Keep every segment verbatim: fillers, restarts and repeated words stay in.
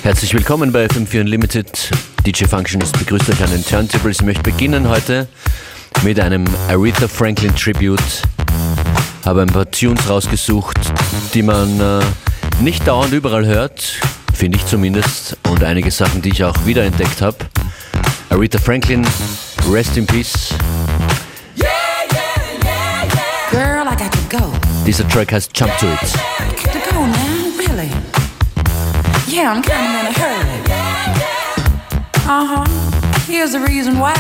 Herzlich willkommen bei F M vier Unlimited. D J Functionist begrüßt euch an den Turntables. Ich möchte beginnen heute mit einem Aretha Franklin Tribute. Habe ein paar Tunes rausgesucht, die man äh, nicht dauernd überall hört, finde ich zumindest, und einige Sachen, die ich auch wiederentdeckt habe. Aretha Franklin, Rest in Peace. Yeah, yeah, yeah, yeah. Girl, I got to go. Dieser Track heißt Jump to It. I got to go now, really. Yeah, I'm kind of in a hurry. Uh-huh. Here's the reason why.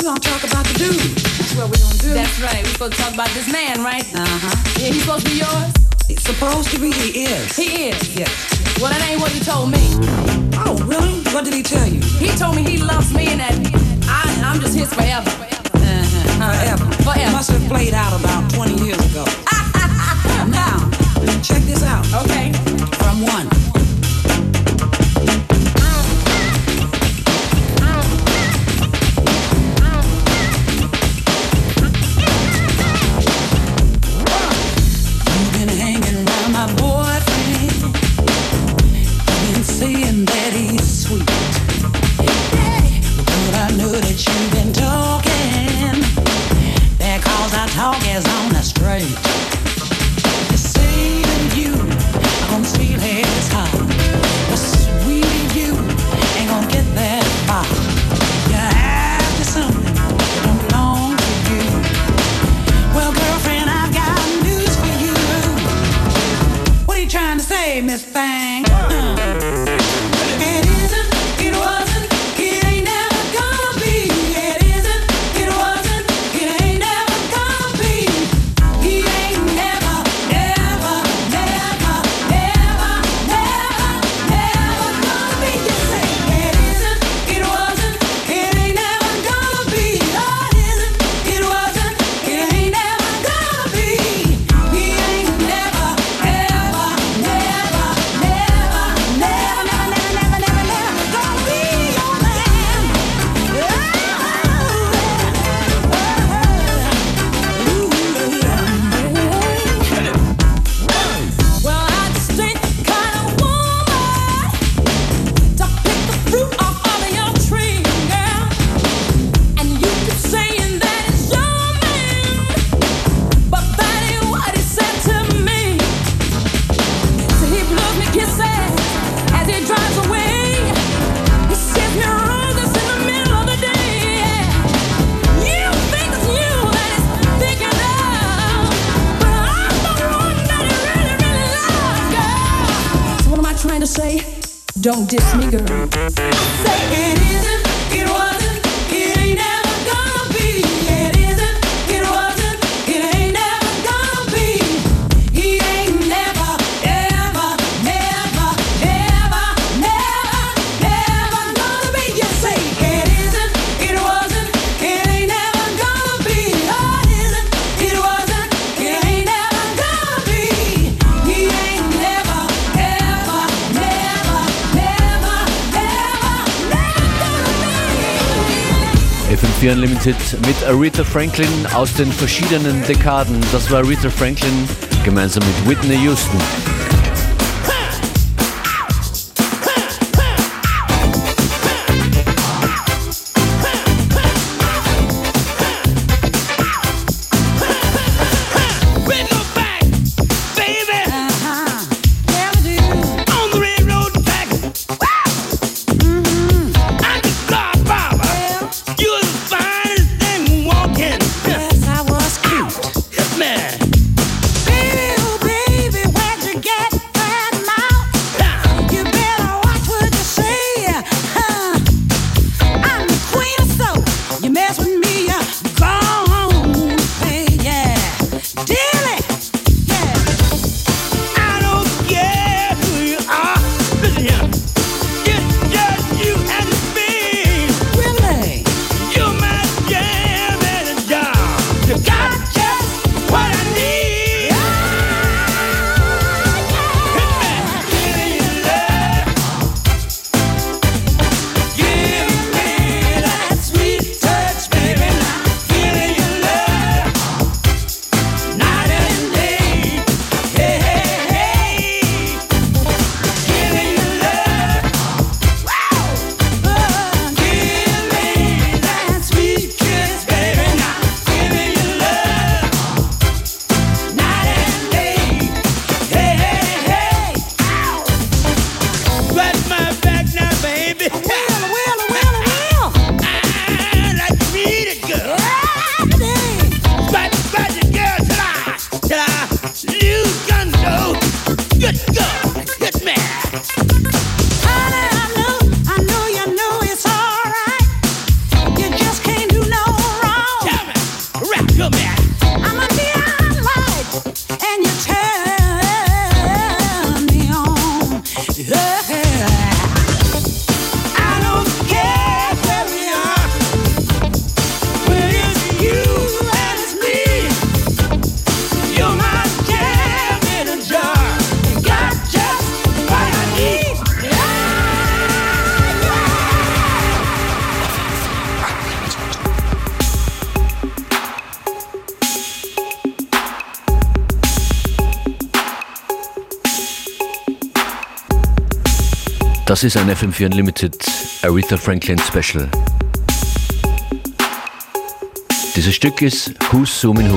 We're gonna talk about the dude. That's what we're gonna do. That's right. We're supposed to talk about this man, right? Uh-huh. Yeah, he's supposed to be yours? He's supposed to be. He is. He is? Yes. Well, that ain't what he told me. Oh, really? What did he tell you? He told me he loves me and that I, I'm just his forever. Uh-huh. Forever. Forever. Must have played out about twenty years ago. Now, check this out. Okay. From one. You've been hanging around my boyfriend. You've been saying that he's sweet. But I know that you've been talking. That cause our talk is on the straight. You say that you are gonna steal his heart, but sweet you ain't gonna get that far. You're after something that don't belong to you. Well, girlfriend, I've got news for you. What are you trying to say, Miss Fang? Uh. It isn't, it wasn't, it ain't never gonna be. It isn't, it wasn't, it ain't never gonna be. He ain't never, never, never, never, never, never gonna be. Just say it isn't, it wasn't, it ain't never gonna be. Oh, it isn't, it wasn't, it ain't never gonna be. He ain't never, ever, never, never, never, never, never, never, never, never gonna be your man. Well, I just ain't the kind of woman to pick the fruit off all of your tree, girl. And you keep saying that it's your man, but that ain't what he said to me. So he blows me kisses as he drives away. He sends me roses in the middle of the day. You think it's you that he's thinking of, but I'm the one that he really, really loves, girl. So what am I trying to say? Don't diss me, girl. Say it isn't, it wasn't, it ain't never gonna be. It isn't, it wasn't, it ain't never gonna be. He ain't never, ever, never, never, never, never gonna be. Just say it isn't, it wasn't, it ain't never gonna be. Oh, it isn't, it wasn't, it ain't never gonna be. He ain't never, ever, never, never, never, never gonna be. F M vier Unlimited mit Aretha Franklin aus den verschiedenen Dekaden. Das war Aretha Franklin gemeinsam mit Whitney Houston. Bring her back, baby, Uh-huh. Yeah, we do. on the railroad track. I'm the car barber. You're the finest thing walking. Yes, I was cute. Yes, man. Baby, oh baby, where'd you Das ist ein F M vier Unlimited Aretha Franklin Special. Dieses Stück ist Who's Zoomin' Who.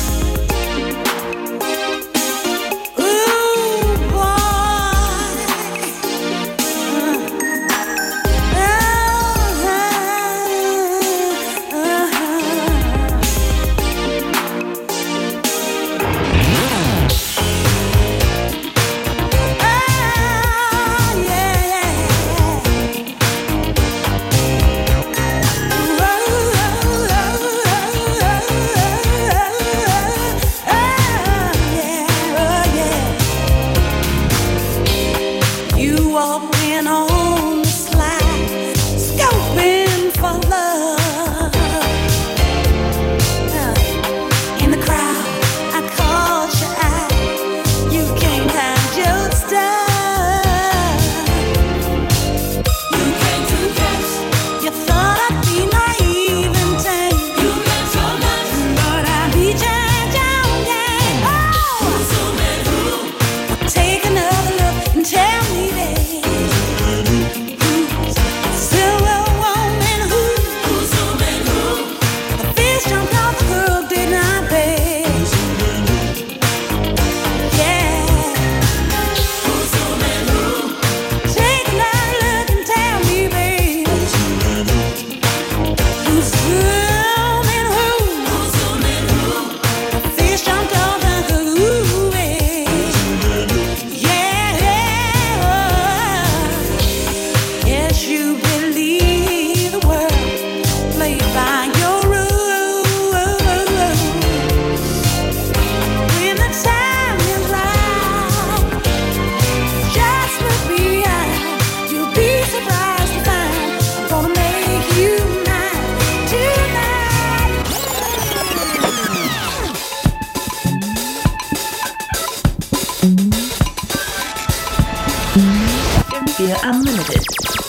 Unlimited.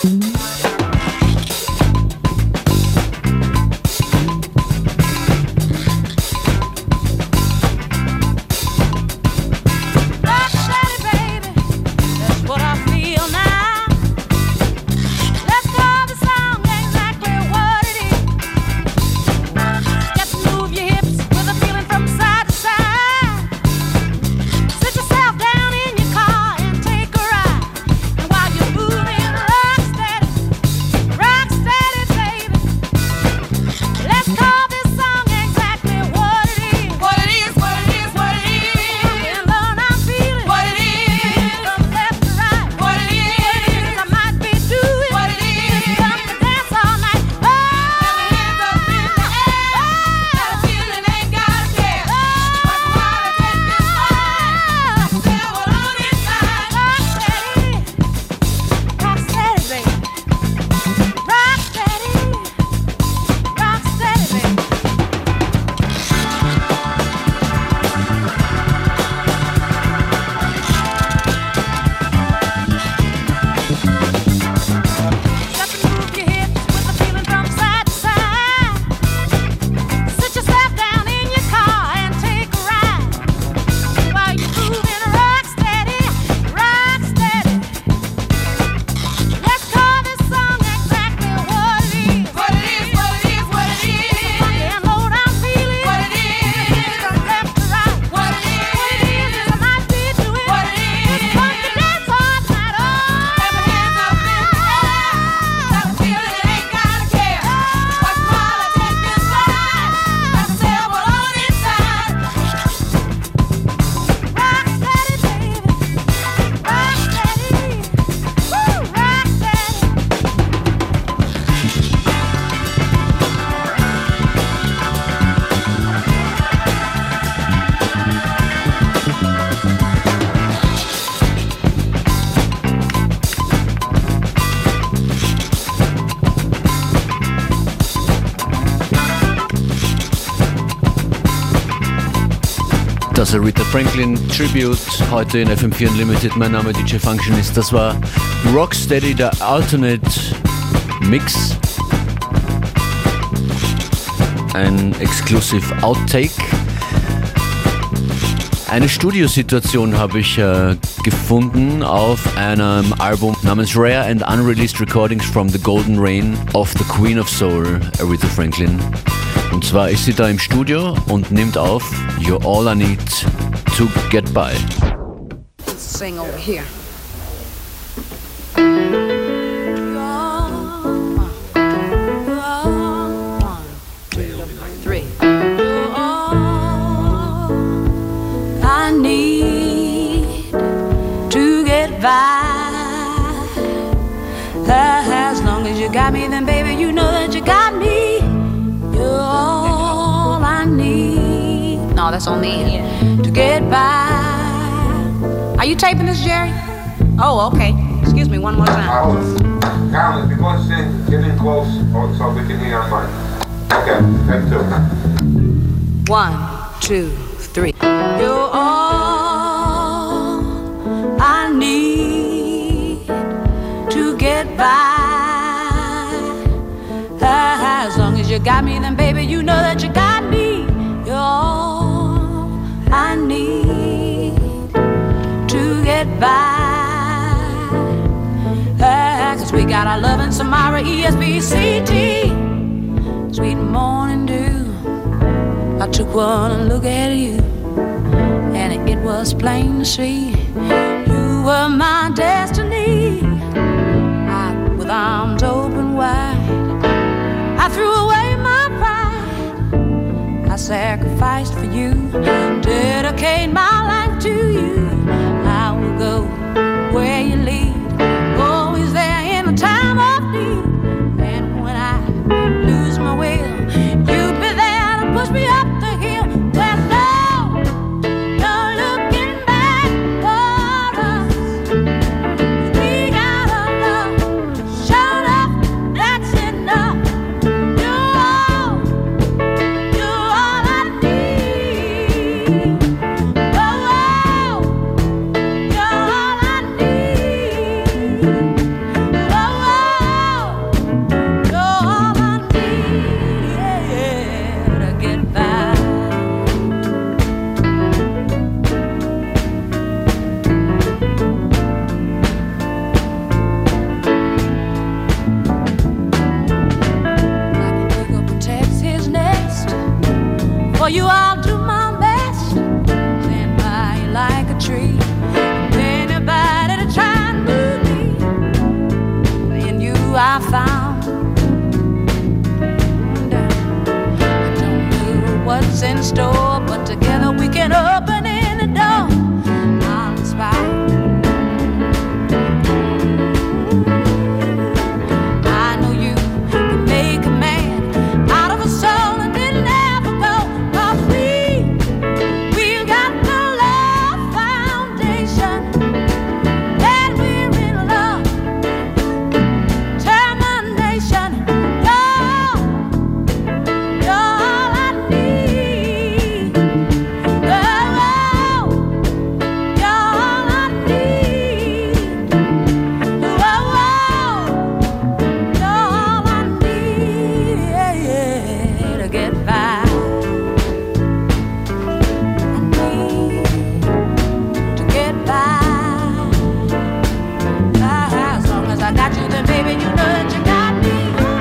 Das Aretha Franklin Tribute heute in F M vier Unlimited. Mein Name D J Functionist. Das war Rocksteady, der Alternate Mix. Ein Exclusive Outtake. Eine Studiosituation habe ich äh, gefunden auf einem Album namens Rare and Unreleased Recordings from the Golden Reign of the Queen of Soul, Aretha Franklin. Und zwar ist sie da im Studio und nimmt auf You're All I Need to Get By. Let's sing over here. As long as you got me, then baby, you know that you got me. You're all I need. No, that's on me. To get by. Are you taping this, Jerry? Oh, okay. Excuse me, one more time. Uh, Carl, if you're going to sing, get in close so we can hear your mic. Okay, take two. One, two, three. You're all I need to get by. As long as you got me, then baby, you know that you got me. You're all I need to get by. Cause we got our love in Samara, E S B C T. Sweet morning dew. I took one look at you, and it was plain to see you were my destiny. I, with arms open wide, I threw away my pride. I sacrificed for you, dedicate my life to you. I will go where you lead, always there in the time of need. And when I lose my will, you'll be there to push me up the hill. Well, no, no looking back for us. We got a love, showed up, that's enough. You're all, you're all I need. Oh, oh, you're all I need. Oh, oh, you're all I need, yeah, to get by. Like an eagle protects his nest, for you I'll do my best. Stand by you like a tree. Anybody to try and move me, in you I found. I don't know what's in store, but together we can open any door. I'll inspire. I know you can make a man out of a soul and it'll never go. 'Cause we, we've got the love foundation, and we're in love, determination. You're, you're all I need. Oh, you're all I need. Oh, you're all I need, yeah, yeah, to get by. I need to get by. Ah, as long as I got you, then baby, you know that you got me.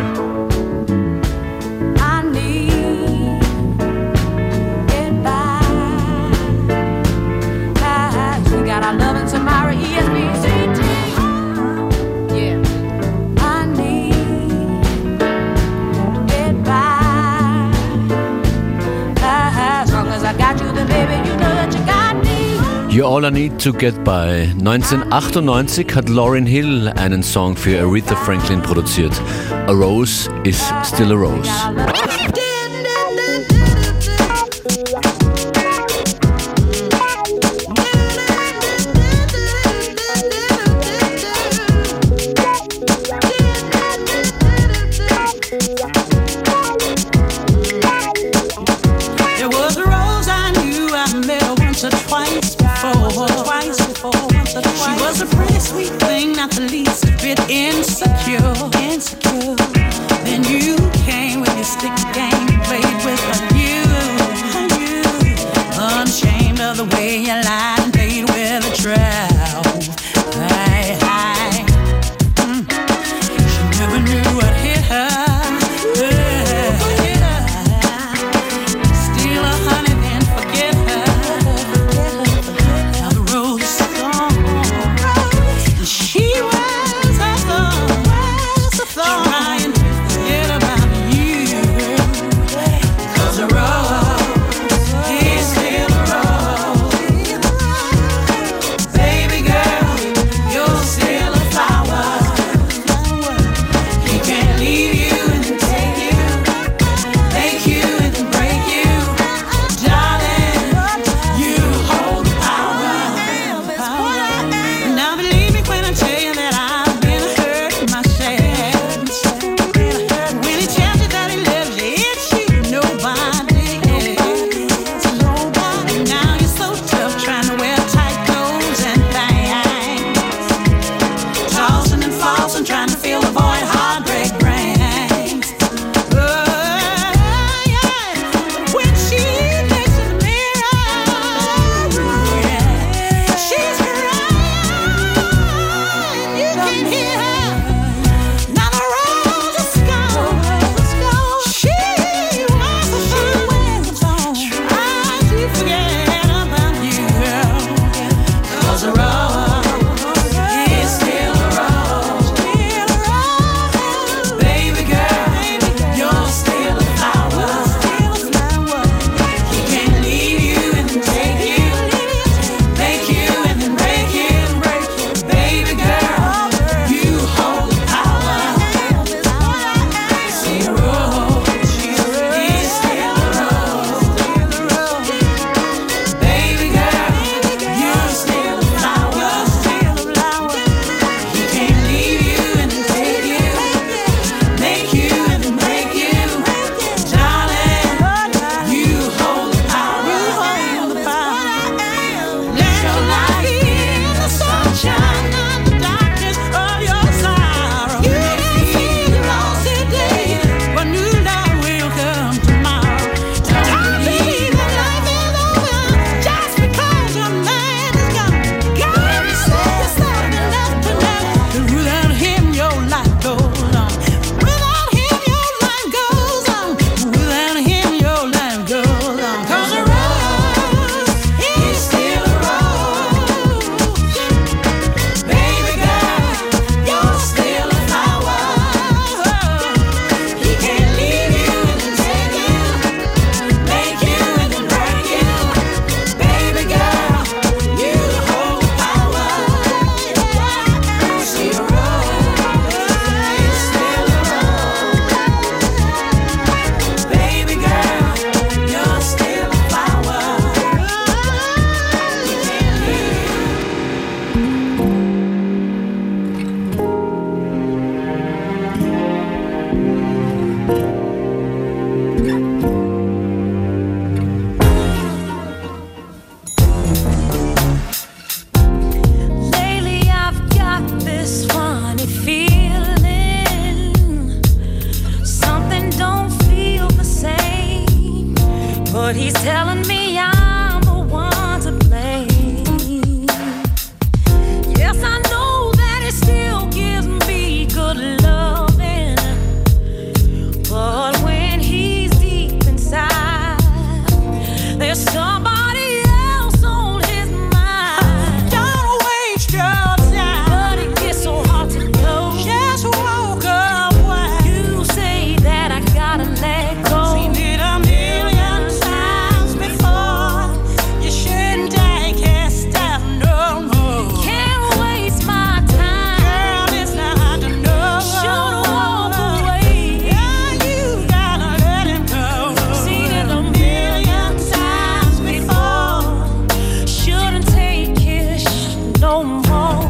I need to get by. Ah, we got our love in Samara, E S B C T. Yeah. I need to get by. As long as I got you, then baby, you know that you got me. You're All I Need to Get By. neunzehnhundertachtundneunzig hat Lauryn Hill einen Song für Aretha Franklin produziert. A Rose is Still a Rose. There was a rose I knew I met her once or twice before. Twice before, once or twice. She was a pretty sweet thing, not the least bit insecure. Insecure. Then you came with your stick game. He's telling me I'm the one to blame. Yes, I know that it still gives me good loving, but when he's deep inside, there's somebody else on his mind. Don't waste your time, but it gets so hard to know. Just walk away. You say that I gotta let go. Seen it a million times before. You shouldn't take it step no more. Can't waste my time, girl. It's not to know. Should walk away. Yeah, you gotta let him go. Seen it a million times before. Shouldn't take it no more.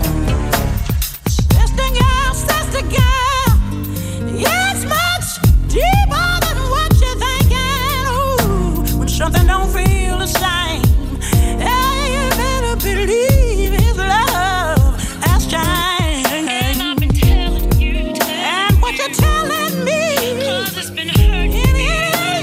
Sister girl, sister girl, it's much deeper than what you're thinking. Ooh, when something don't feel the same, yeah, you better believe his love has changed. And I've been telling you that. And what you're telling me, 'cause it's been hurting me.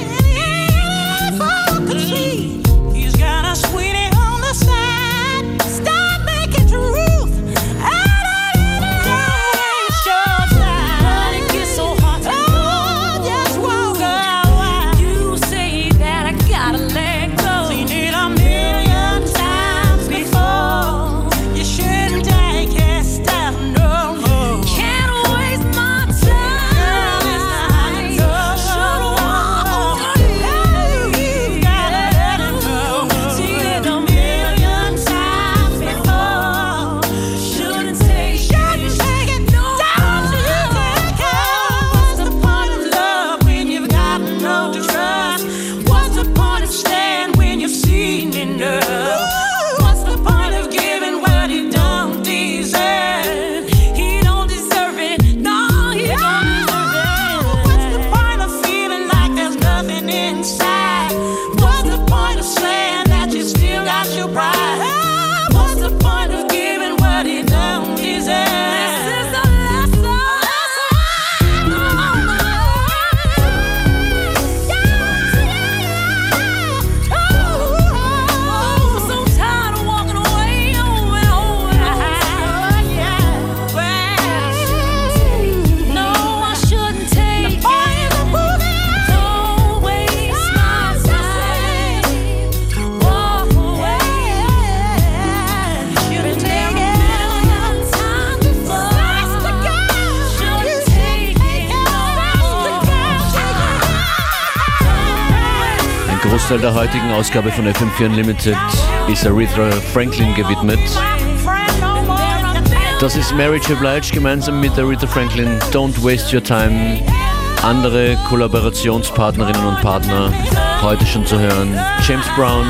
If I could see, he's got a sweetie on the side. Stop making truth out of it. Don't waste your time, but it gets so hard to know. Just walk away. You say that I gotta let go. Seen it a million times before. You shouldn't take it step no more. Can't waste my time. Girl, it's not enough. Should walk away. You gotta let him go. Seen it a million times before. Shouldn't take shouldn't take it no more. Don't you take it. What's the point of love when you've got no trust? What's the point of staying when you've seen enough? What's the point of giving what he don't deserve? He don't deserve it. No, he don't deserve it. What's the point of feeling like there's nothing inside? What's the point of saying that you still got your pride? What's the point of giving what he don't deserve? This is the lesson. Oh, I'm so tired of walking away over and over. No, I shouldn't take it. Don't waste my time. Walk away. Shouldn't take it a million times before. Shouldn't take it. Ein Großteil der heutigen Ausgabe von F M vier Unlimited ist Aretha Franklin gewidmet. Das ist Mary J. Blige gemeinsam mit Aretha Franklin, Don't Waste Your Time. Andere Kollaborationspartnerinnen und Partner heute schon zu hören. James Brown,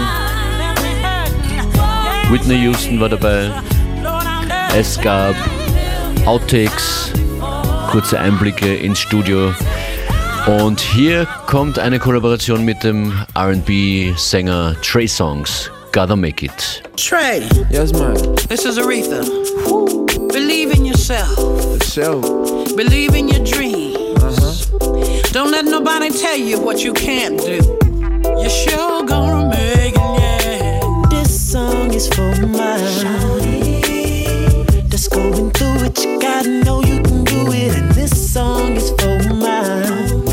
Whitney Houston war dabei. Es gab Outtakes, kurze Einblicke ins Studio. Und hier kommt eine Kollaboration mit dem R and B-Sänger Trey Songz, Gotta Make It. Trey, Yes, man. this is Aretha. Believe in yourself. So, Believe in your dreams. uh-huh. Don't let nobody tell you what you can't do. You're sure gonna make it, yeah. This song is for my shawty that's going through it. You gotta know you can do it. And this song is for my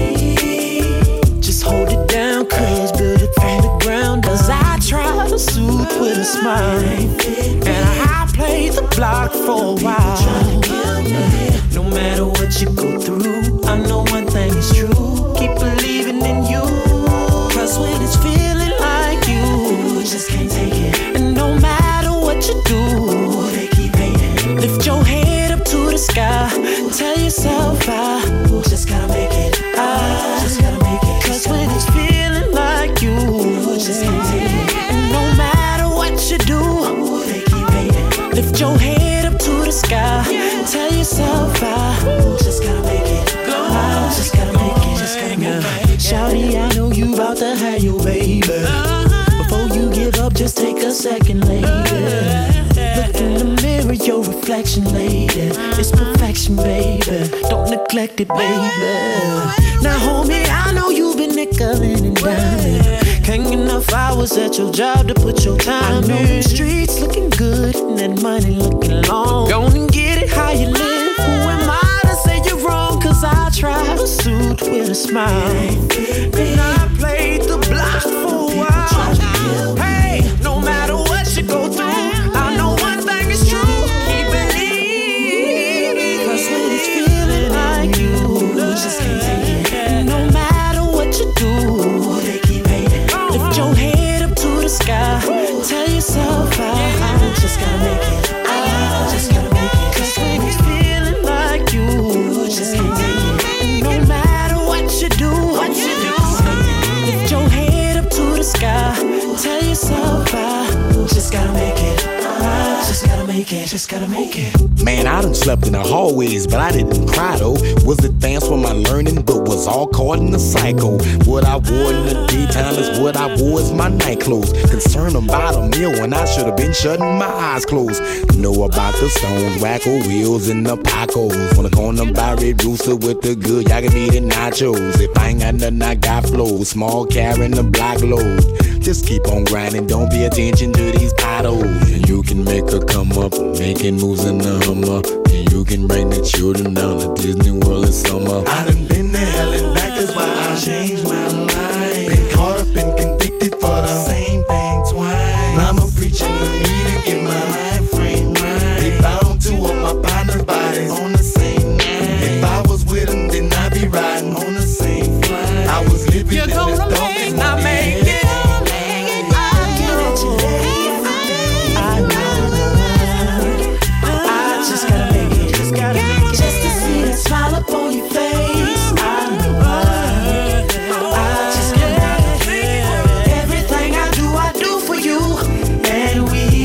just hold it down, cuz build it from the ground. Cause I try to soothe with a smile, and I played the block for a while. No matter what you go through, I know one thing is true. Keep believing in you, cause when it's feeling like you just can't take it. And no matter what you do, they keep hating. Lift your head up to the sky, tell yourself I just gotta make it. I just gotta make it. Cause when it's feeling like you just can't take it. And no matter what you do, they keep hating. Lift your head up to the sky, tell yourself I just gotta make it. I just gotta make it. Just gotta make it. Shawty, I know you about to have your baby. Before you give up, just take a second, lady. Look in the mirror, your reflection, lady. It's perfection, baby. Don't neglect it, baby. Now, homie, I know you've been nickeling and diming. Hang enough hours at your job to put your time in. I know them streets looking good and that money looking long. Go and get it how you live. Who am I to say you're wrong? Cause I try a suit with a smile. And I played the block for a while. Hey, no matter what you go through, I know one thing is true. Keep believing. Cause when it's feeling like you just can't take it. No matter what you do, they keep hating. Lift your head up to the sky. Tell yourself I just gotta make it. I just gotta make it. Cause when it's feeling like you just can't take it. No matter what you do, what you do, lift your head up to the sky. Tell yourself I just gotta make it. I just gotta make it, just gotta make it. Man, I done slept in the hallways, but I didn't cry though. Was advanced for my learning, but was all caught in the cycle. What I wore in the daytime is what I wore as my night clothes. Concerned about a meal when I should have been shutting my eyes closed. Know about the stones, wacko wheels, and the pacos. Wanna corner by Red Rooster with the good yaga meat and nachos. If I ain't got nothing, I got flow. Small carrying the black load. Just keep on grinding, don't pay attention to these potholes. And you can make her come up, making moves in the Hummer. And you can bring the children down to Disney World in summer. I done been to hell and back, that's why I changed my life. Been caught up and convicted for the same thing twice. I'm a preacher to me to get my life frame right. They found two of my partner's bodies on the same night. If I was with them, then I'd be riding on the same flight. I was living You're in gonna the dark make, and I make it. Smile up on your face. I know I, I just can't make it. Everything I do, I do for you. And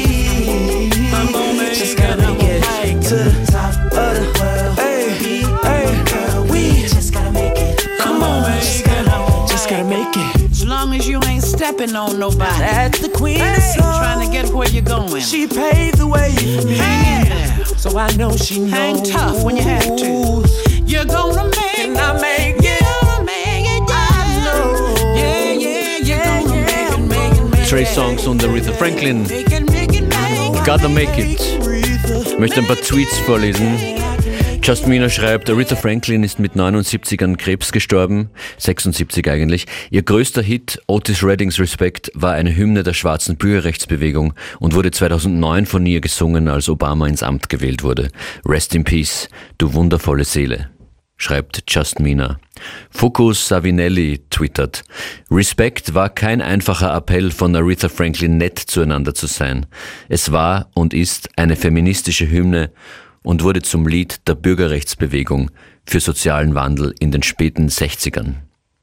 we just gotta make it to the top of the world. Hey, hey, we just gotta make it. Come on, just gotta, just gotta make it. As long as you ain't stepping on nobody. That's the queen hey, of soul. Trying to get where you're going. She paved the way for me. Hang in there. So I know she knows. Hang tough when you have to. You're gonna make it. I make it. You're gonna make it. Yeah. I know. Yeah, yeah, you're yeah, gonna yeah. make it, make it, make it. Trey Songz und Aretha Franklin. Make it, make it, make it. Gotta make it. Ich möchte ein paar Tweets vorlesen. Justmina schreibt, Aretha Franklin ist mit neunundsiebzig an Krebs gestorben, sechsundsiebzig eigentlich. Ihr größter Hit, Otis Reddings Respect, war eine Hymne der schwarzen Bürgerrechtsbewegung und wurde zweitausendneun von ihr gesungen, als Obama ins Amt gewählt wurde. Rest in Peace, du wundervolle Seele, schreibt Justmina. Focus Savinelli twittert, Respect war kein einfacher Appell von Aretha Franklin, nett zueinander zu sein. Es war und ist eine feministische Hymne und wurde zum Lied der Bürgerrechtsbewegung für sozialen Wandel in den späten sechzigern.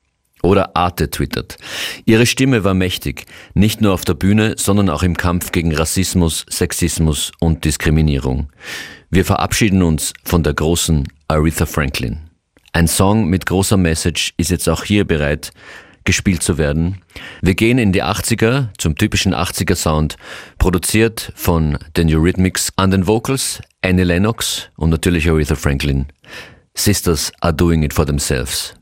Oder Arte twittert, ihre Stimme war mächtig, nicht nur auf der Bühne, sondern auch im Kampf gegen Rassismus, Sexismus und Diskriminierung. Wir verabschieden uns von der großen Aretha Franklin. Ein Song mit großer Message ist jetzt auch hier bereit, gespielt zu werden. Wir gehen in die achtziger, zum typischen achtziger-Sound, produziert von den Eurythmics, an den Vocals Annie Lennox und natürlich Aretha Franklin. Sisters are doing it for themselves.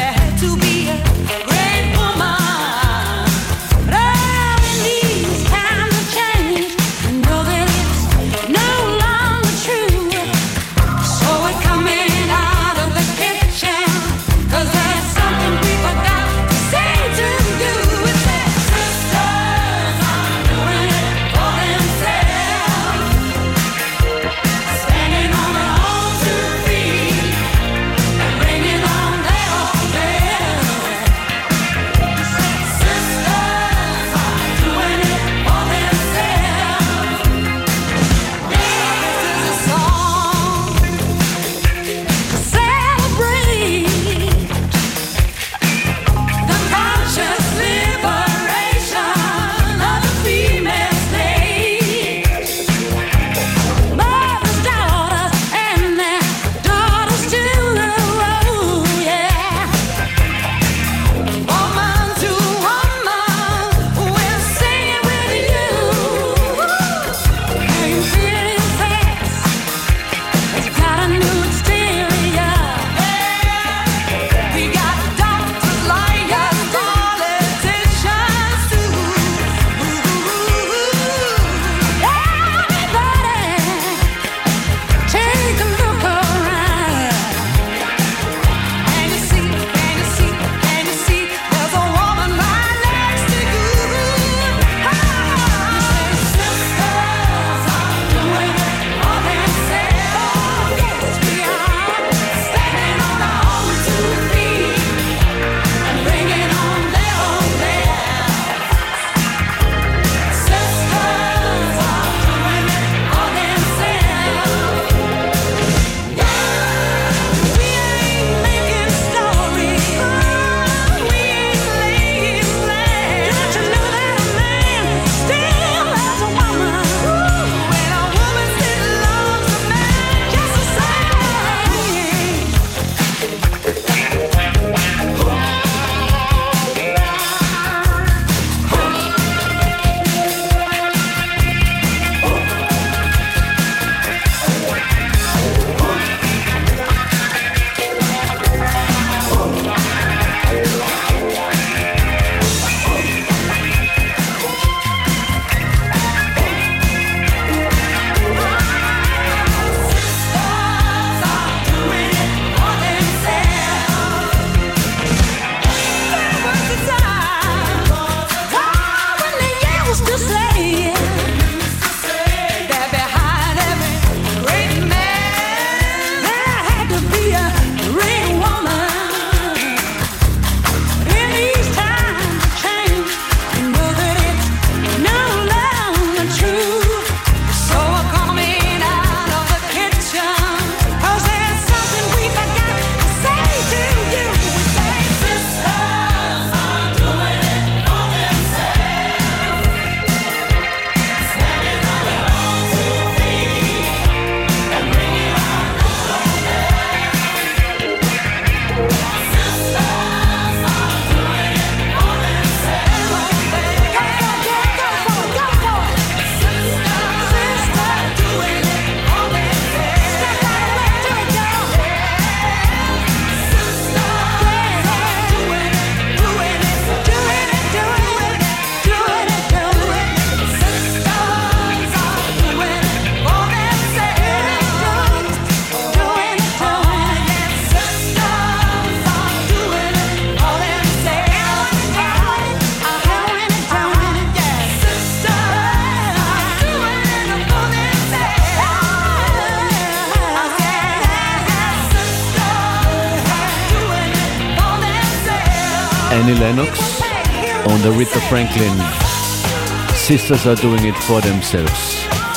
Time Annie Lennox und Aretha Franklin. Sisters are doing it for themselves.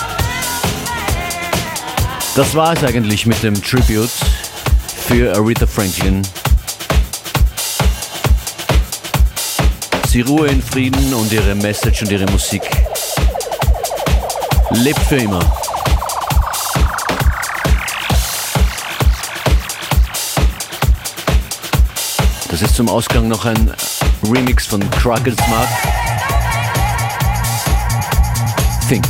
Das war es eigentlich mit dem Tribute für Aretha Franklin. Sie Ruhe in Frieden und ihre Message und ihre Musik lebt für immer. Das ist zum Ausgang noch ein Remix von Crackle Smart. Think.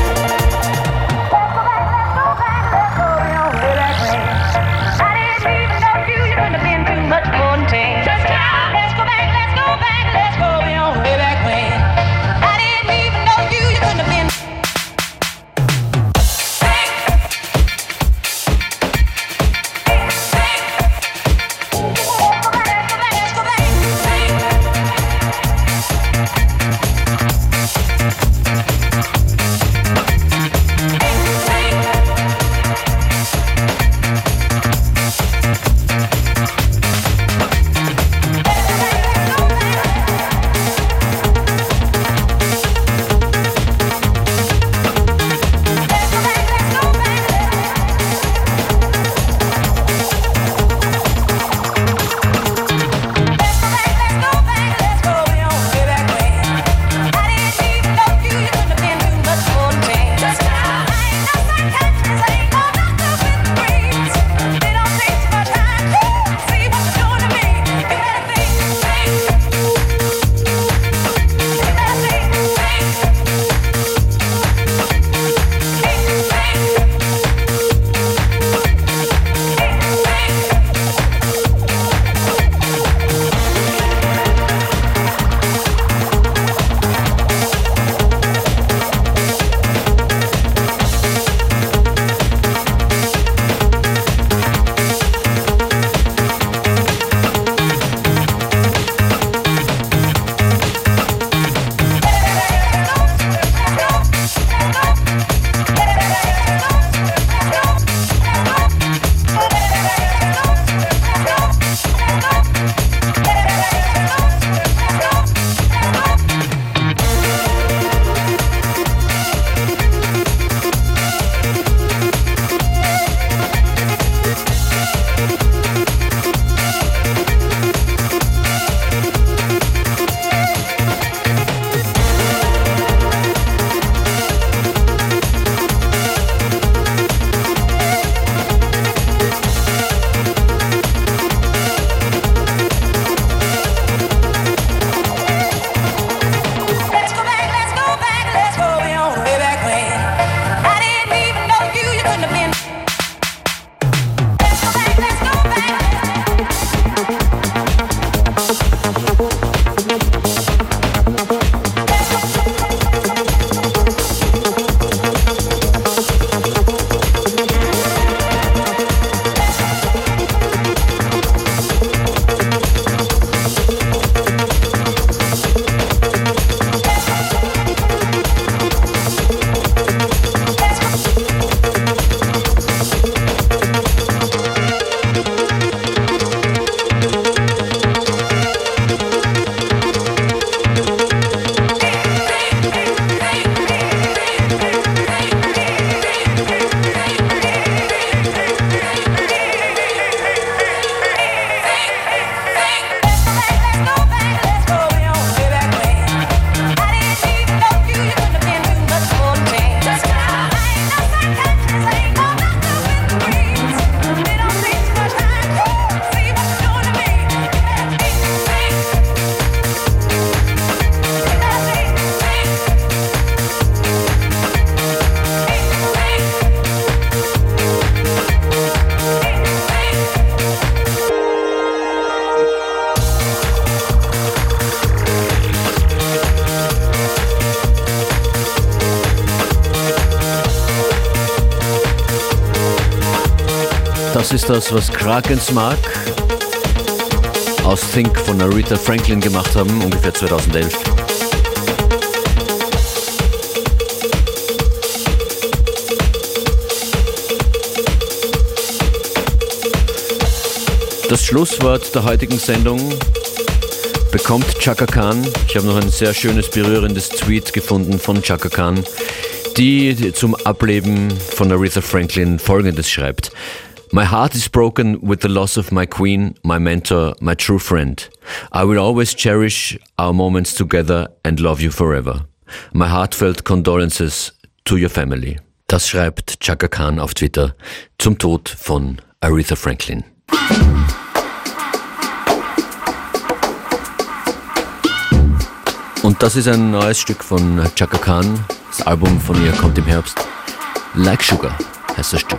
I didn't need Das ist das, was Krakens mag aus Think von Aretha Franklin gemacht haben, ungefähr zweitausendelf. Das Schlusswort der heutigen Sendung bekommt Chaka Khan. Ich habe noch ein sehr schönes, berührendes Tweet gefunden von Chaka Khan, die zum Ableben von Aretha Franklin Folgendes schreibt. My heart is broken with the loss of my queen, my mentor, my true friend. I will always cherish our moments together and love you forever. My heartfelt condolences to your family. Das schreibt Chaka Khan auf Twitter zum Tod von Aretha Franklin. Und das ist ein neues Stück von Chaka Khan. Das Album von ihr kommt im Herbst. Like Sugar heißt das Stück.